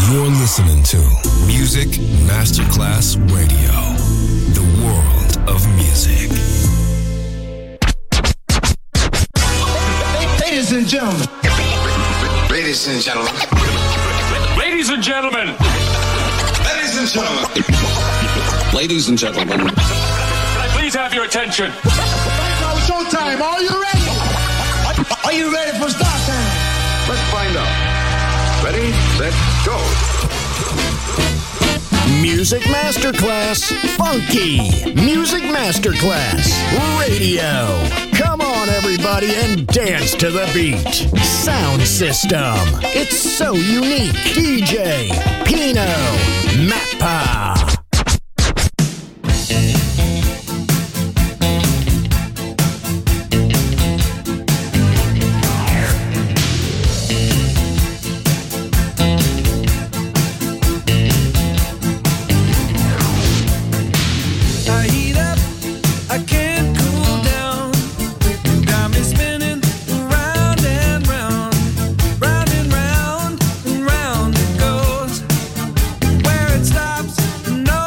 You're listening to Music Masterclass Radio, the world of music. Ladies and gentlemen. Ladies and gentlemen. Ladies and gentlemen. Ladies and gentlemen. Ladies and gentlemen. Can I please have your attention? Now showtime. Are you ready? Are you ready for start time? Let's find out. Ready, set, go. Music Masterclass Funky. Music Masterclass Radio. Come on, everybody, and dance to the beat. Sound system. It's so unique. DJ Pino Mappa. No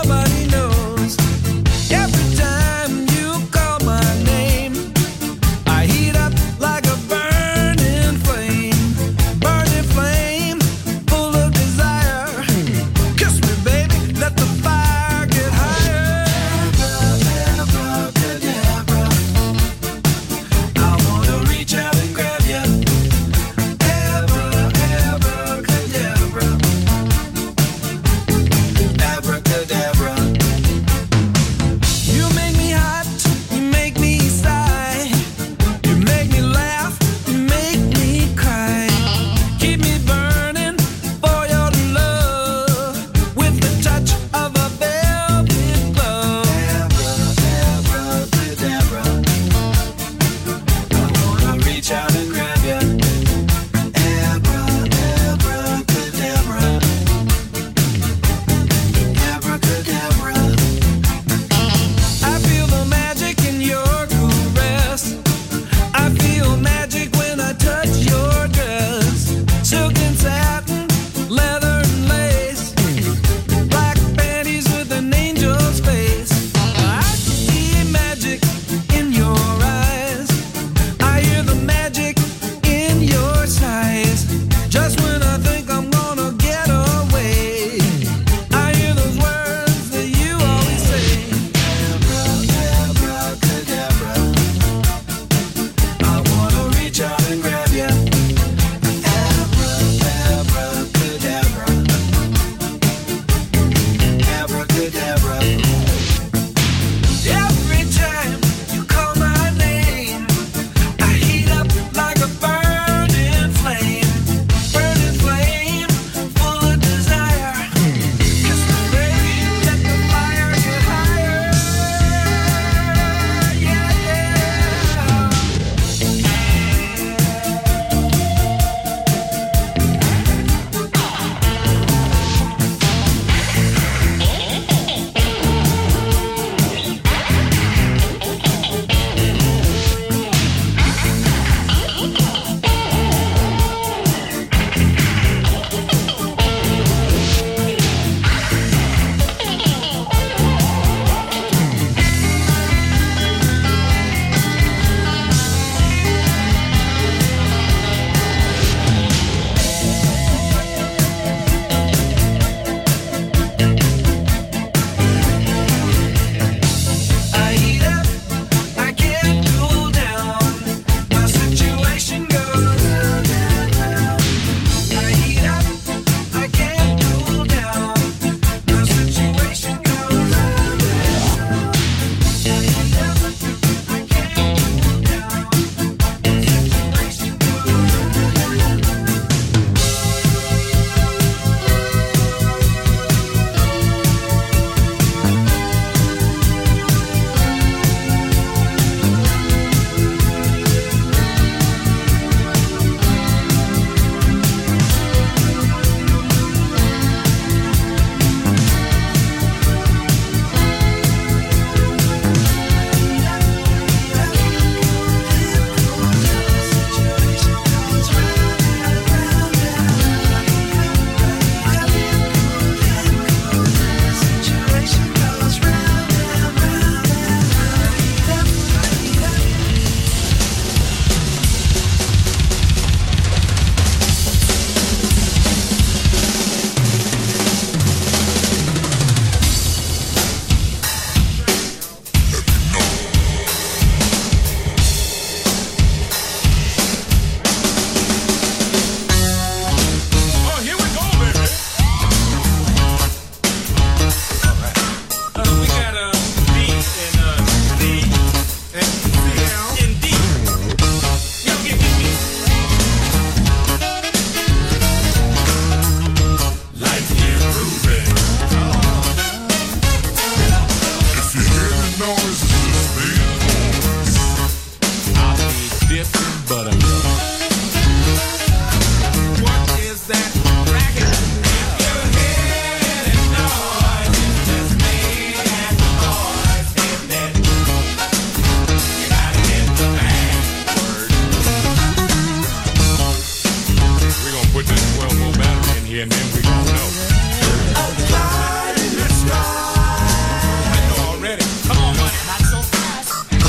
put this 12-volt battery in here and then we gon' know. A cloud in the sky. I know already. Come on, money, not so fast.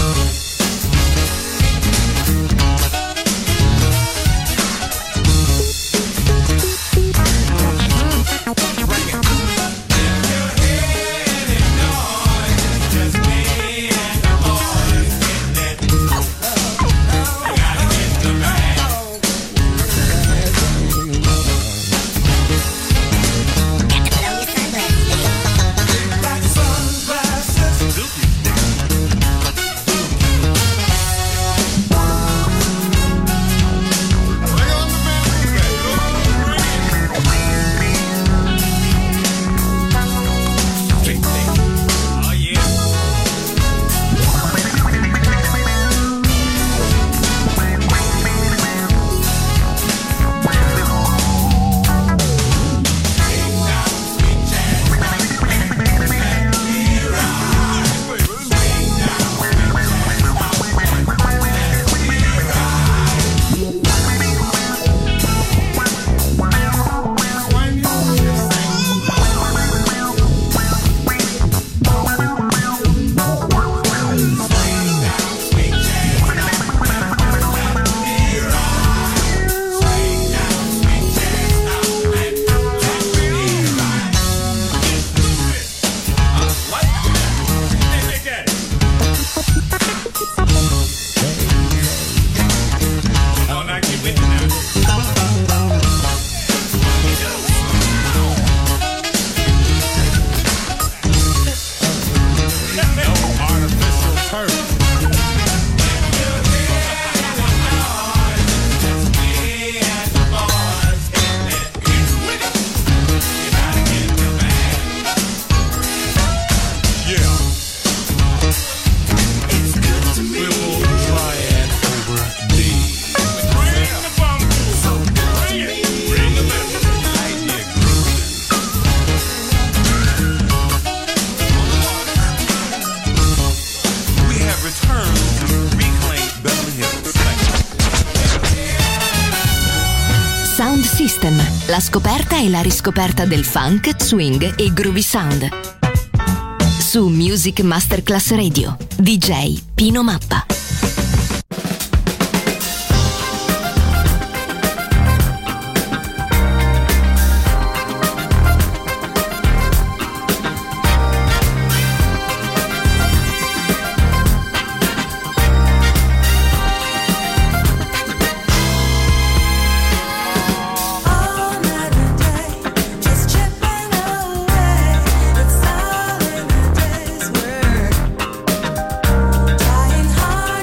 Bring it. If you hear any noise, it's just me and the boys getting it. Gotta get the bag. Like sunglasses. Oh yeah. What? Take that. Oh, now get with it now. No artificial turf. Yeah. It's good to me. We'll try it over D. Bring the bump. Bring it. Bring the left. Right here, grooving. We have returned to reclaim Beverly Hills. Sound System, la scoperta e la riscoperta del funk, swing e groovy sound. Su Music Masterclass Radio, DJ Pino Mappa. All night and day, just chipping away. It's all in the day's work. Trying hard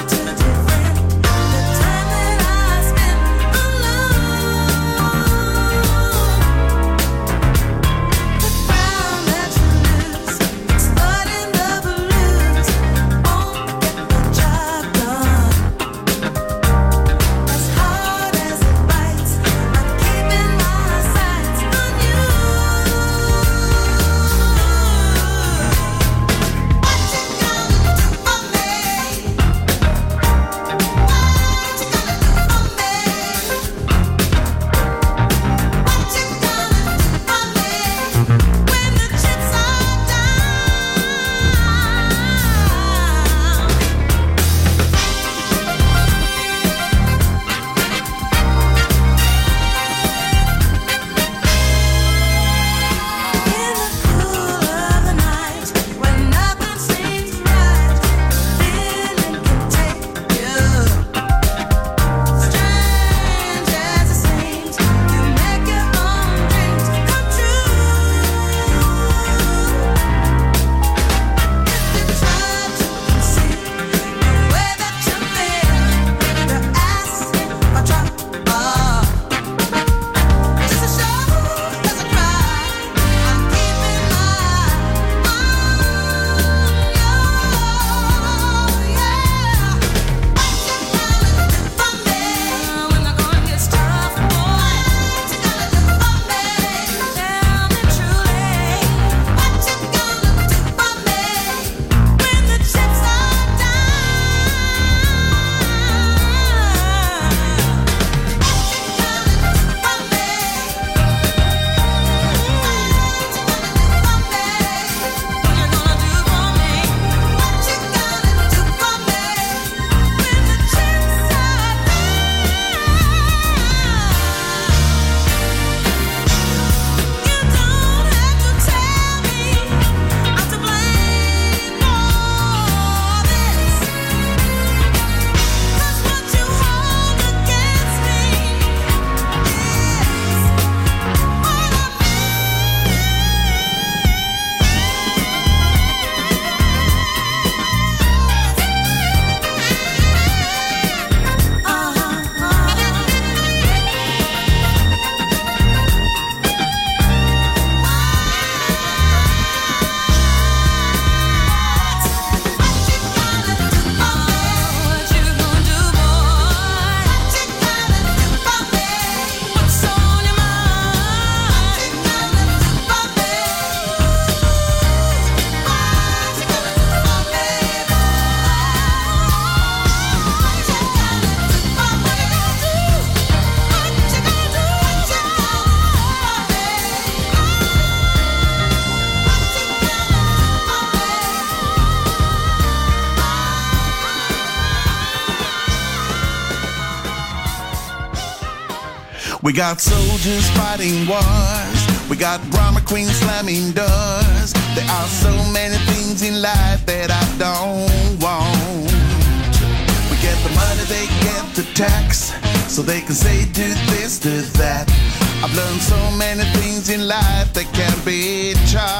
We got soldiers fighting wars. We got drama queens slamming doors. There are so many things in life that I don't want. We get the money, they get the tax, so they can say do this, do that. I've learned so many things in life that can't be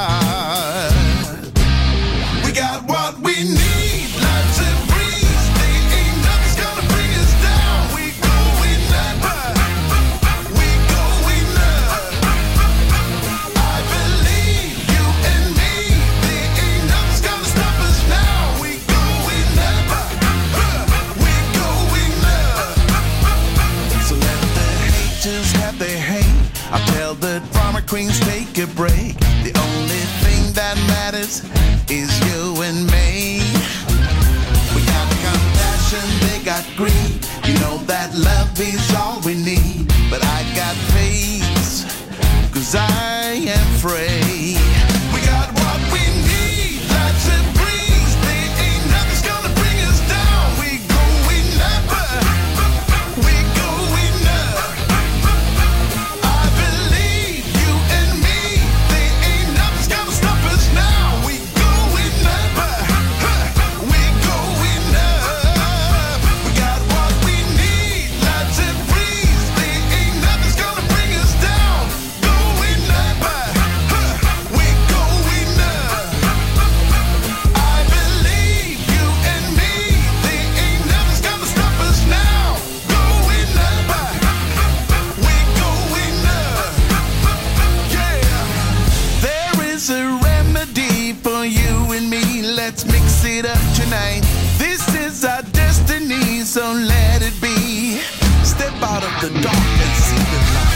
charged. We got what we need, life's a breeze. There ain't nothing's gonna bring us down. We going up, we going up. I believe you and me. There ain't nothing's gonna stop us now. We going up, we going up. So let the haters have their hate. I tell the drama queens take a break. The only thing that matters is you and me. We got compassion, they got greed. You know that love is all we need. But I got faith, 'cause I am free. We got what we need, life's a breeze. There ain't nothing's gonna bring us down. We going up, we going up. I believe you and me. There ain't nothing's gonna stop us now. We going up, we going up. We got what we need, life's a breeze. There ain't nothing's gonna bring us down. Going up, we going up. I believe you and me. There ain't nothing's gonna stop us now. Going up, we going up. Yeah, there is a remedy for you and me. Let's mix it up tonight. This is our destiny, so let it be. Step out of the dark and see the light.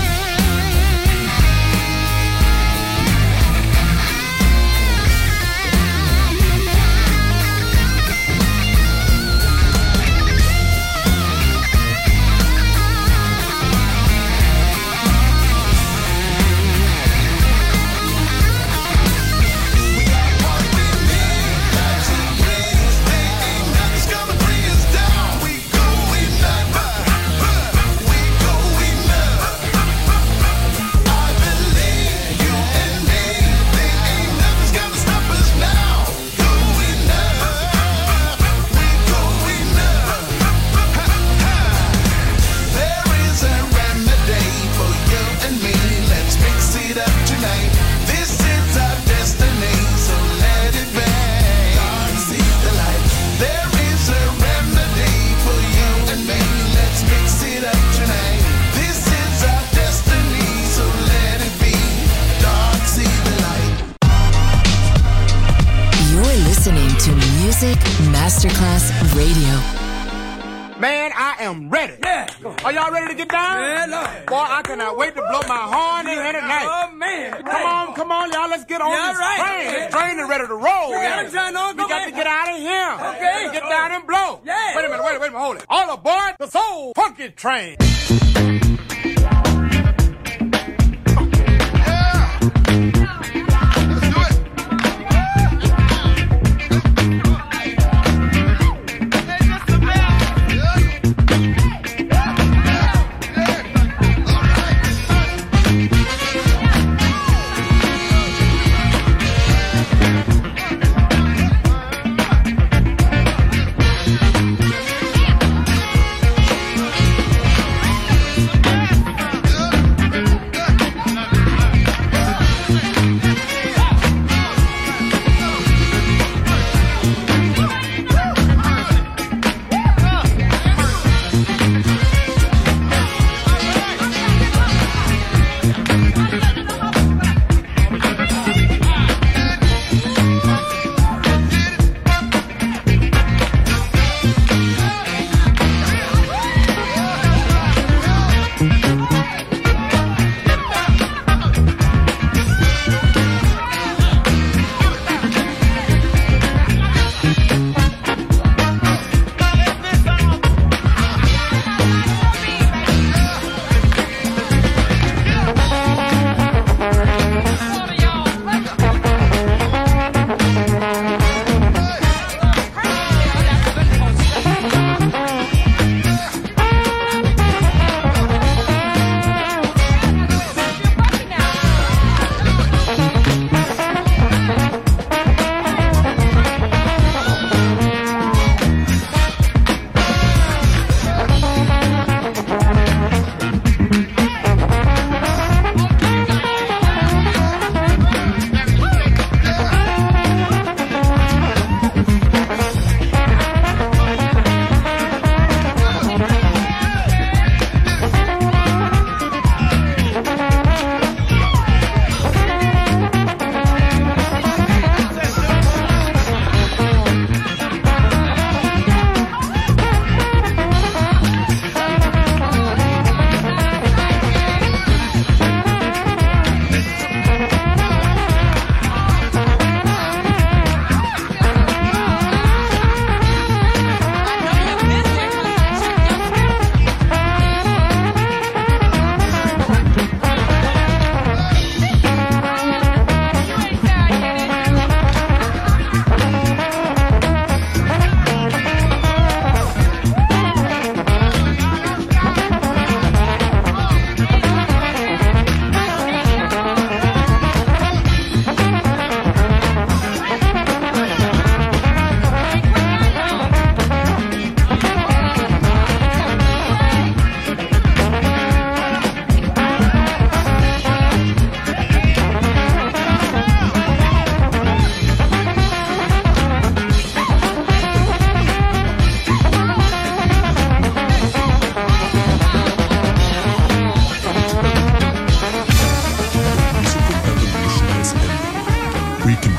We got what we need, life's a breeze. There ain't nothing's gonna bring us down. We going up, we going up. I believe you and me. There ain't nothing's gonna stop us now. Going up, we going up. There is a remedy for you and me. Let's mix it up tonight. This is our destiny, so let it be. God, see the light. There is a remedy for you and me. Let's mix it up tonight. This is our destiny, so let it be. Dark, see the light. You're listening to Music Masterclass Radio. Man, I am ready. Yeah. Are y'all ready to get down? Yeah, Lord. Boy, I cannot wait to blow my horn in here tonight. Oh, man. Come on, y'all. Let's get on Yeah, this right. train. This train is ready to roll. We got man. a train on. We Go got ahead. to get out of here. Okay. Get down and blow. Yeah. Wait a minute, hold it. All aboard the Soul Funky Train.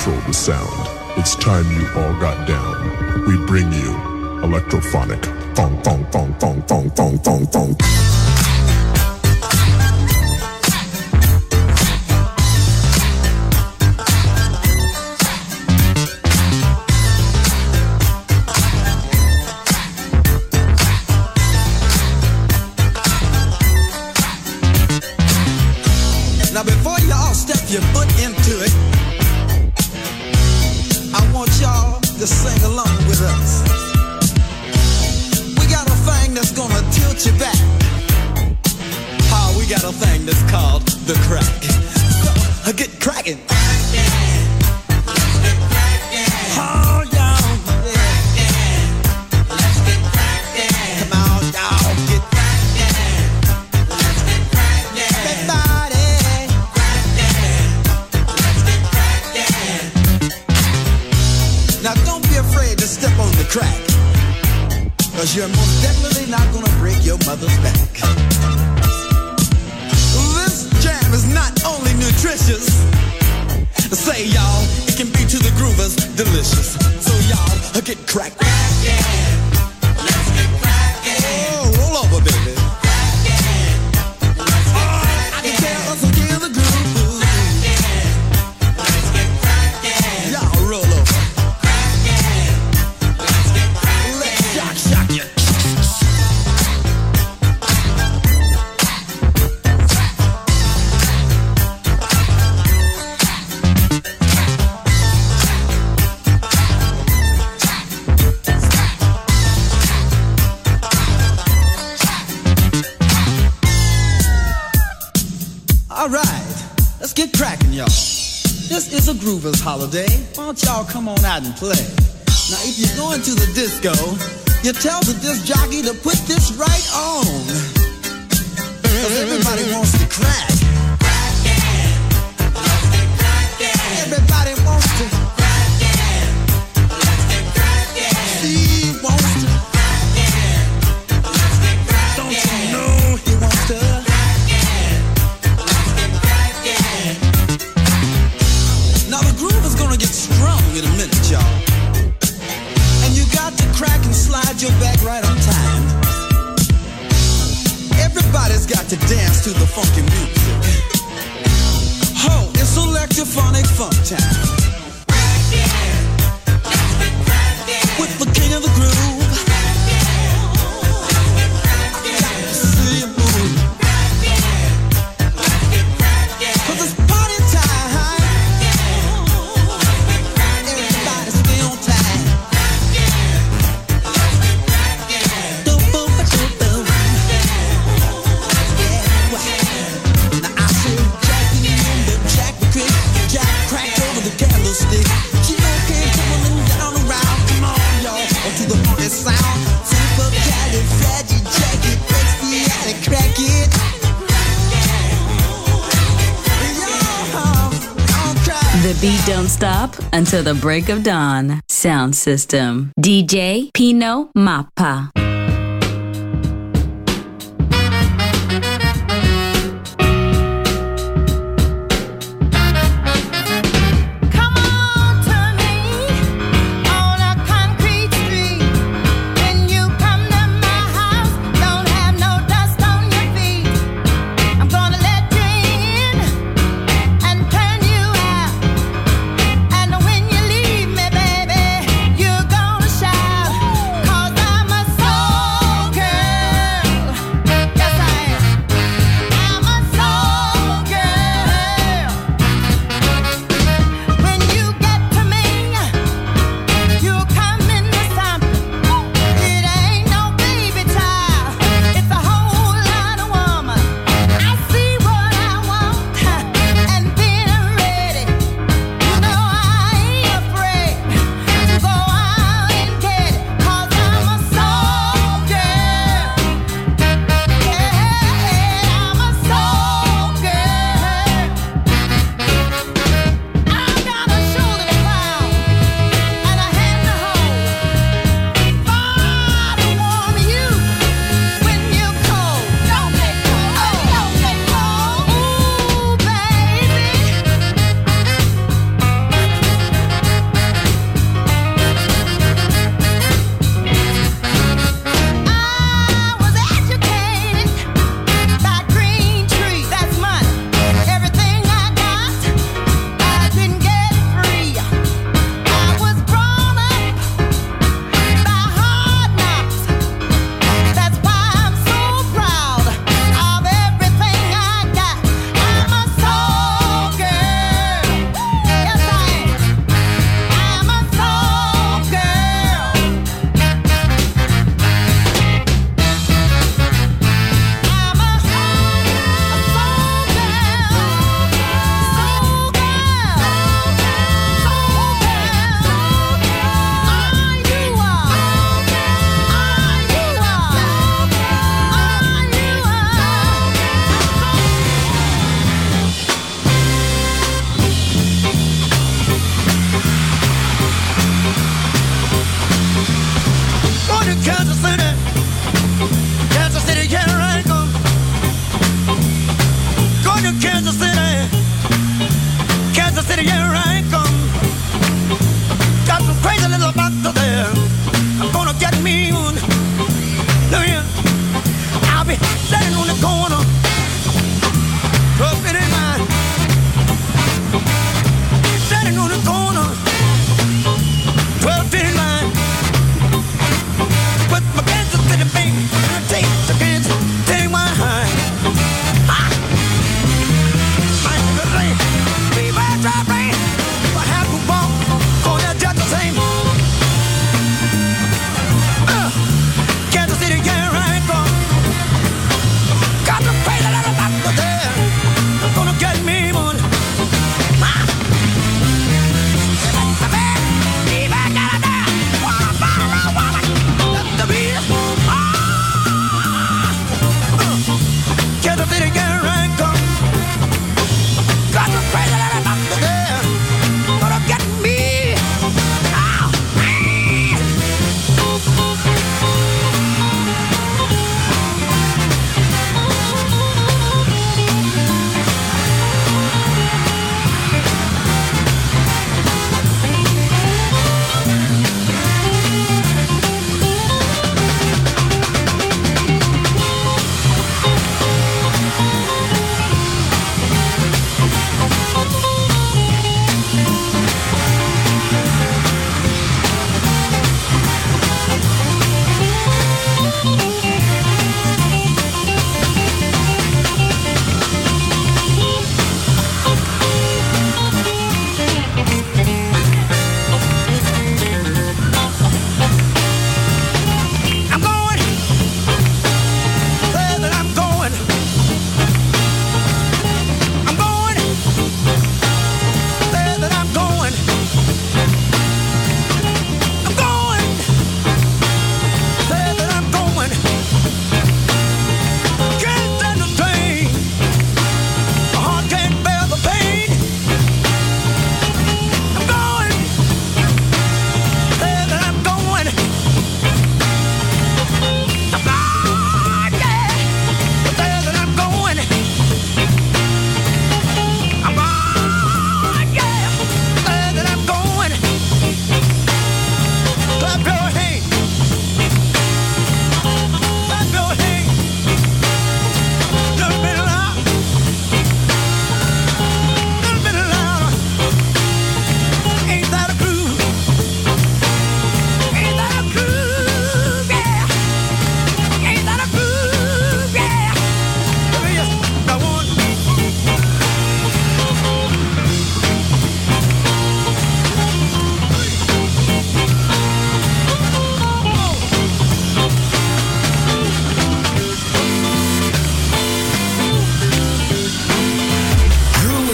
control the sound. It's time you all got down. We bring you electrophonic. Fong, fong, fong, fong, fong, fong, fong, fong. Now before y'all step your foot into it, I want y'all to sing along with us. We got a thing that's gonna tilt you back. We got a thing that's called the crack. So, get cracking. Oh, y'all. Let's get cracking. Come on, y'all. Get cracking. Let's get cracking. Everybody. Let's get cracking. Now don't be afraid to step on the crack, 'cause you're most definitely not gonna break your mother's back. Jam is not only nutritious, say y'all, it can be to the groovers delicious. So y'all, get cracked. Let's get crackin'. Oh, roll over, baby. I can tell us again the groove. Let's get crackin'. Y'all roll over. Let's get crackin'. Let's shock you. All right, let's get cracking, y'all. This is a Groovers holiday. Why don't y'all come on out and play? Now, if you're going to the disco, you tell the disc jockey to put this right on, 'cause everybody wants to crack. Let's get crackin'. Everybody wants to crackin'. Let's get crackin'. Steve wants to crackin'. Let's get crackin'. Don't you know he wants to? Now the groove is gonna get strong in a minute, y'all. And you got to crack and slide your back right on time. Everybody's got to dance to the funky music. Oh, it's electrophonic funk time. With the king of the groove. See you move. 'Cause it's party time. Everybody stay on time. Now I see Jackie and the Jack McCrick. Jack cracked over the candlestick. She came tumbling down around. Come on, y'all, to the funky sound. Super califragilistic, expiatic, crack it. The beat don't stop until the break of dawn. Sound system. DJ Pino Mappa. When you leave me, baby, you're gonna shout, 'cause I'm a soul.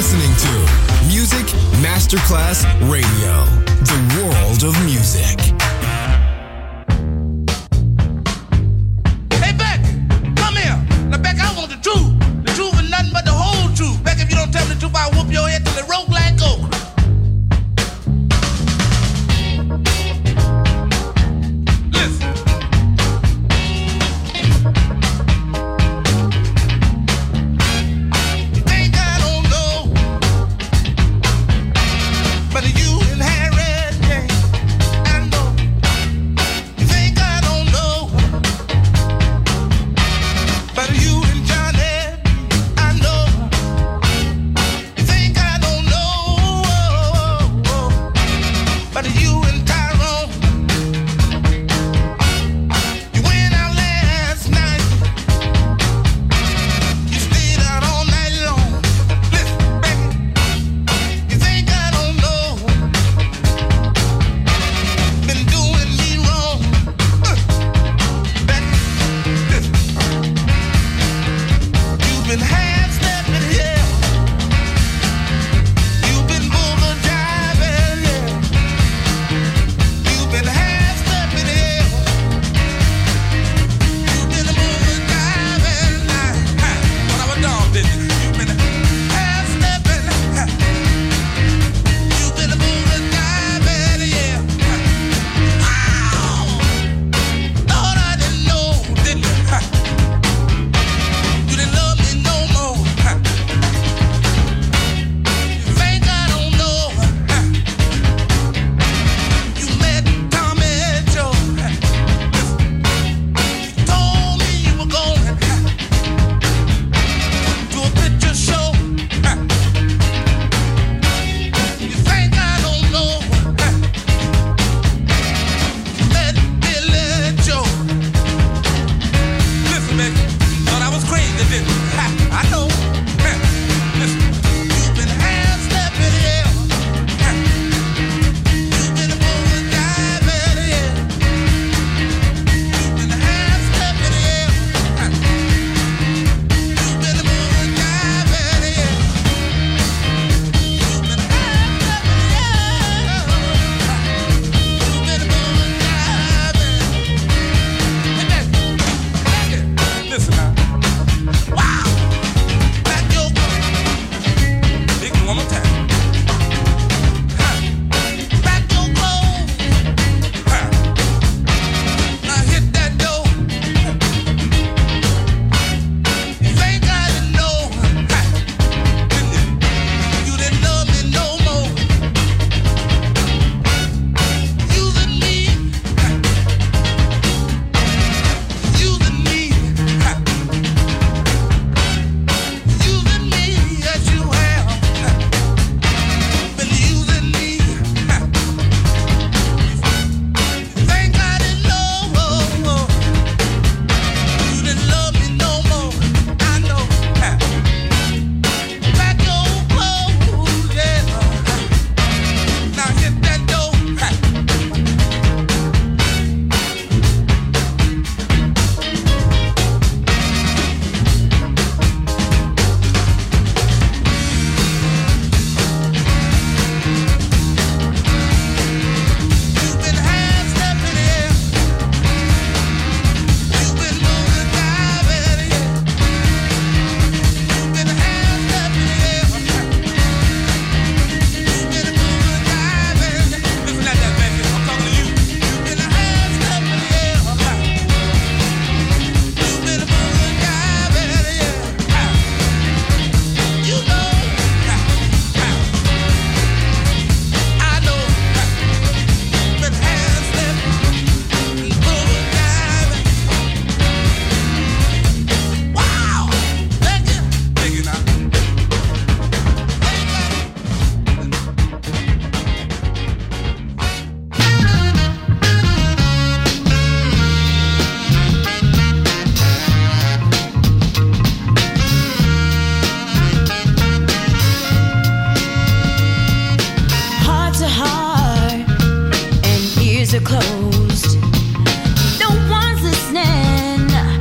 listening to Music Masterclass Radio, the world of music. Hey, Beck, come here. Now, Beck, I want the truth. The truth and nothing but the whole truth. Beck, if you don't tell me the truth, I'll whoop your head till it roll like okra.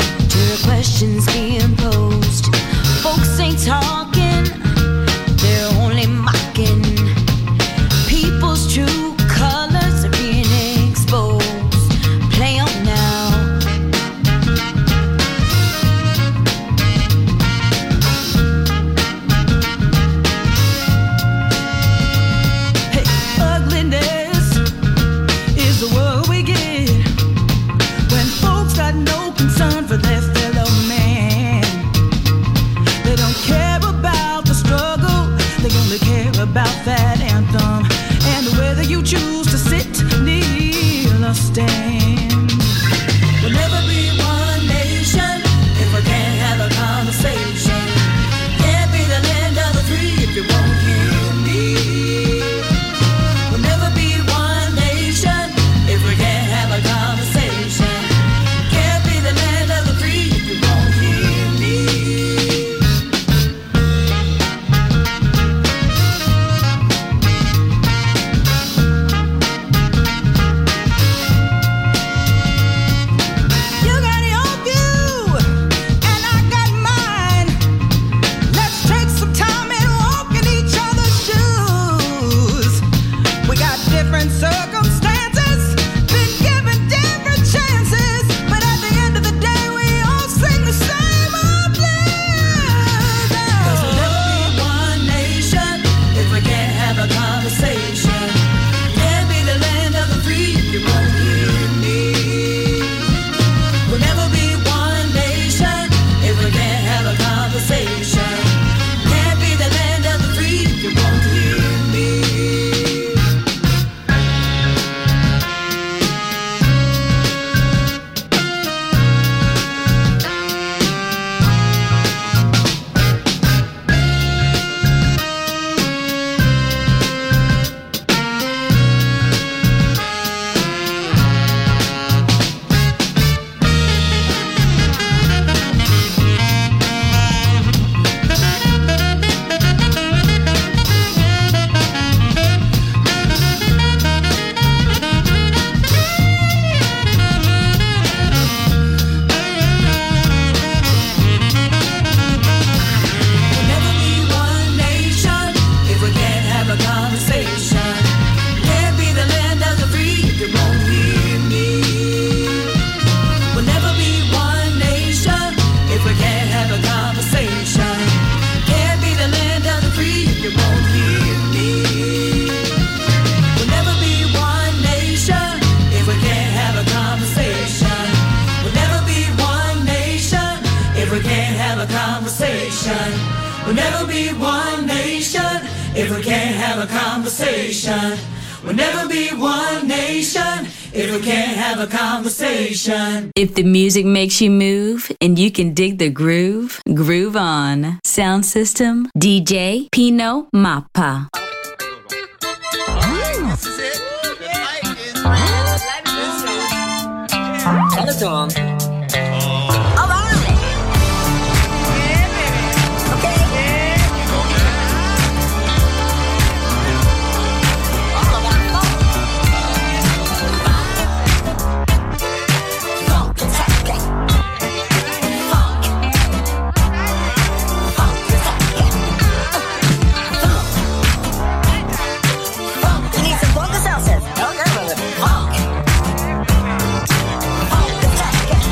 questions being posed. Folks ain't talking, they're if we can't have a conversation. We'll never be one nation if we can't have a conversation. If the music makes you move and you can dig the groove, groove on. Sound system, DJ Pino Mappa. This is it. Tell it to him. Funk.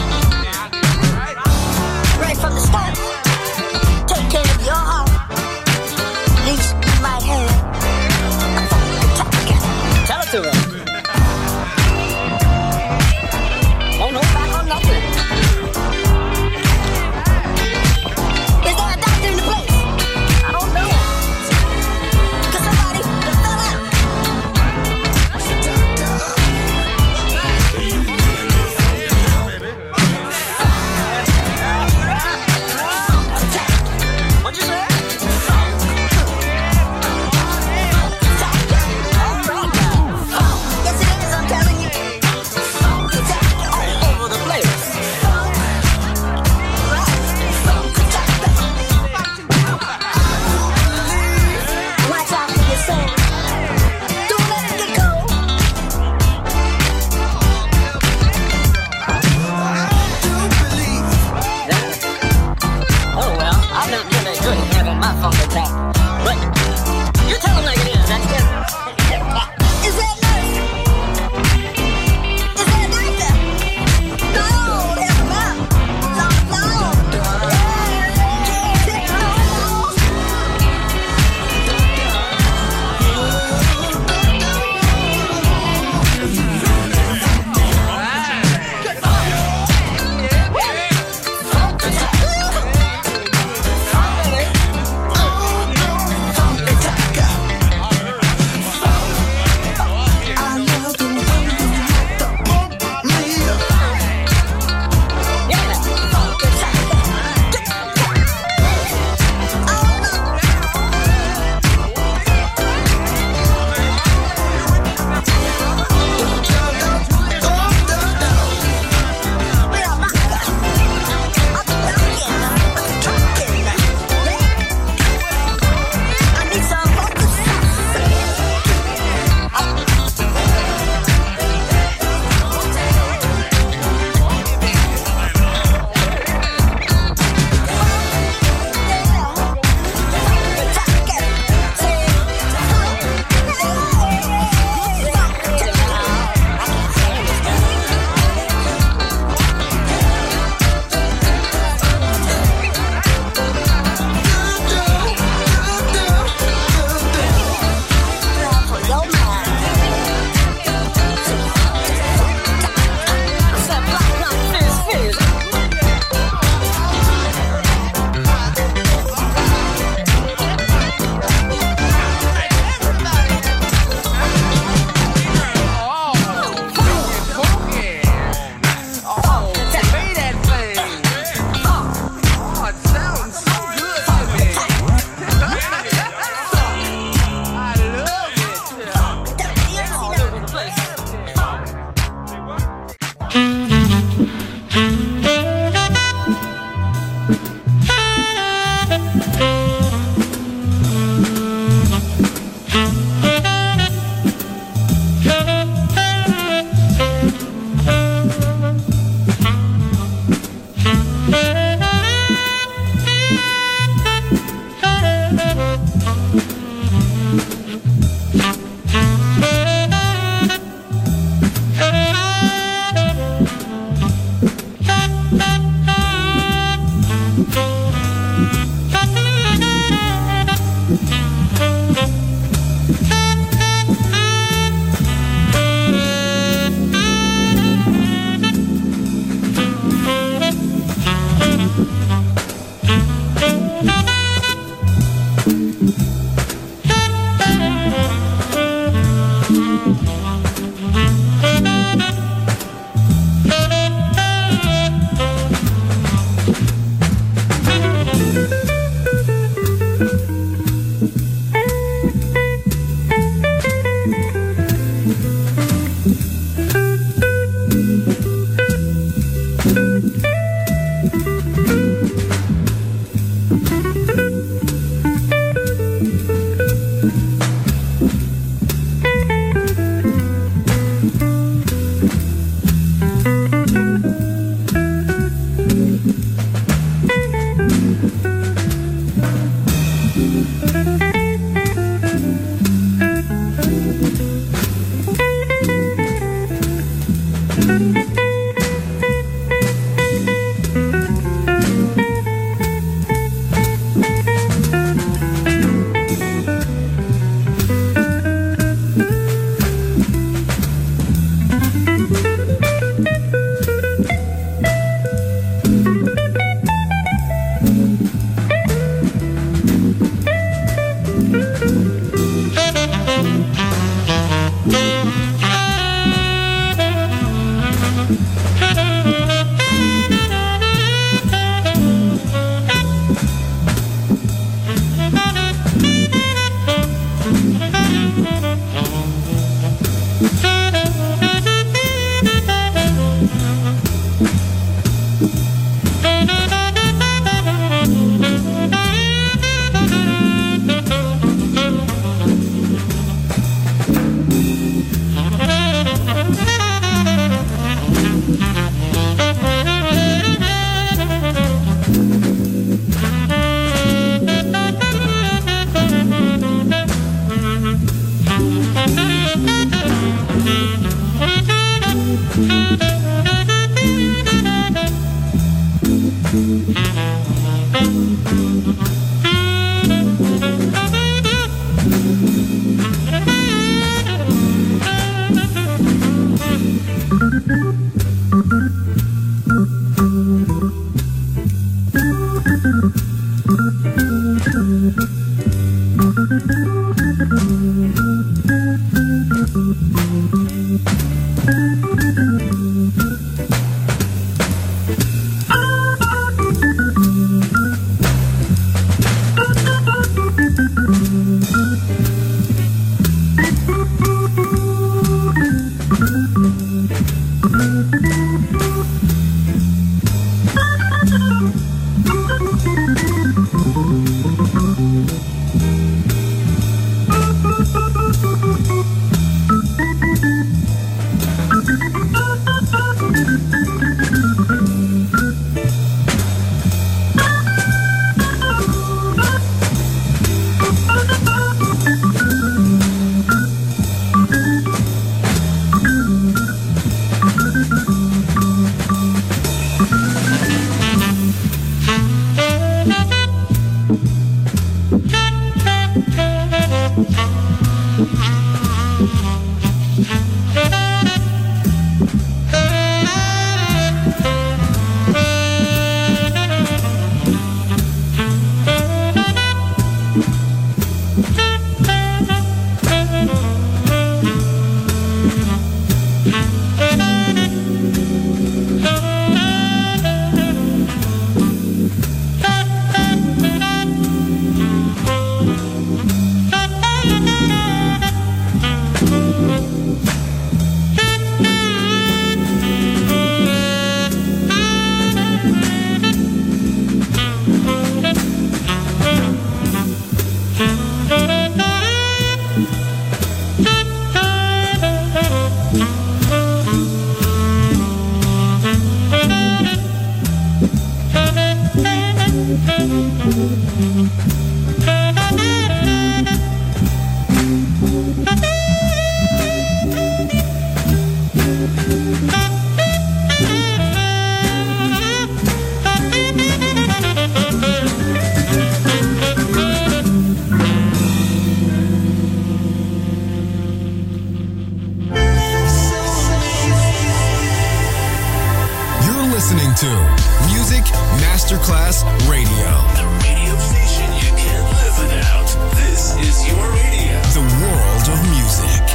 listening to Music Masterclass Radio. The radio station you can't live without. This is your radio. The world of music.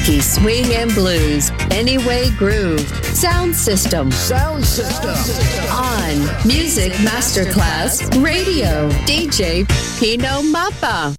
funky swing and blues. Anyway Groove. Sound System. Sound System. On Music Masterclass Radio. DJ Pino Mappa.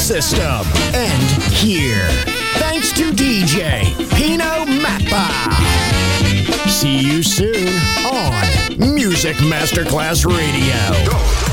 system. And here, thanks to DJ Pino Mappa. See you soon on Music Masterclass Radio.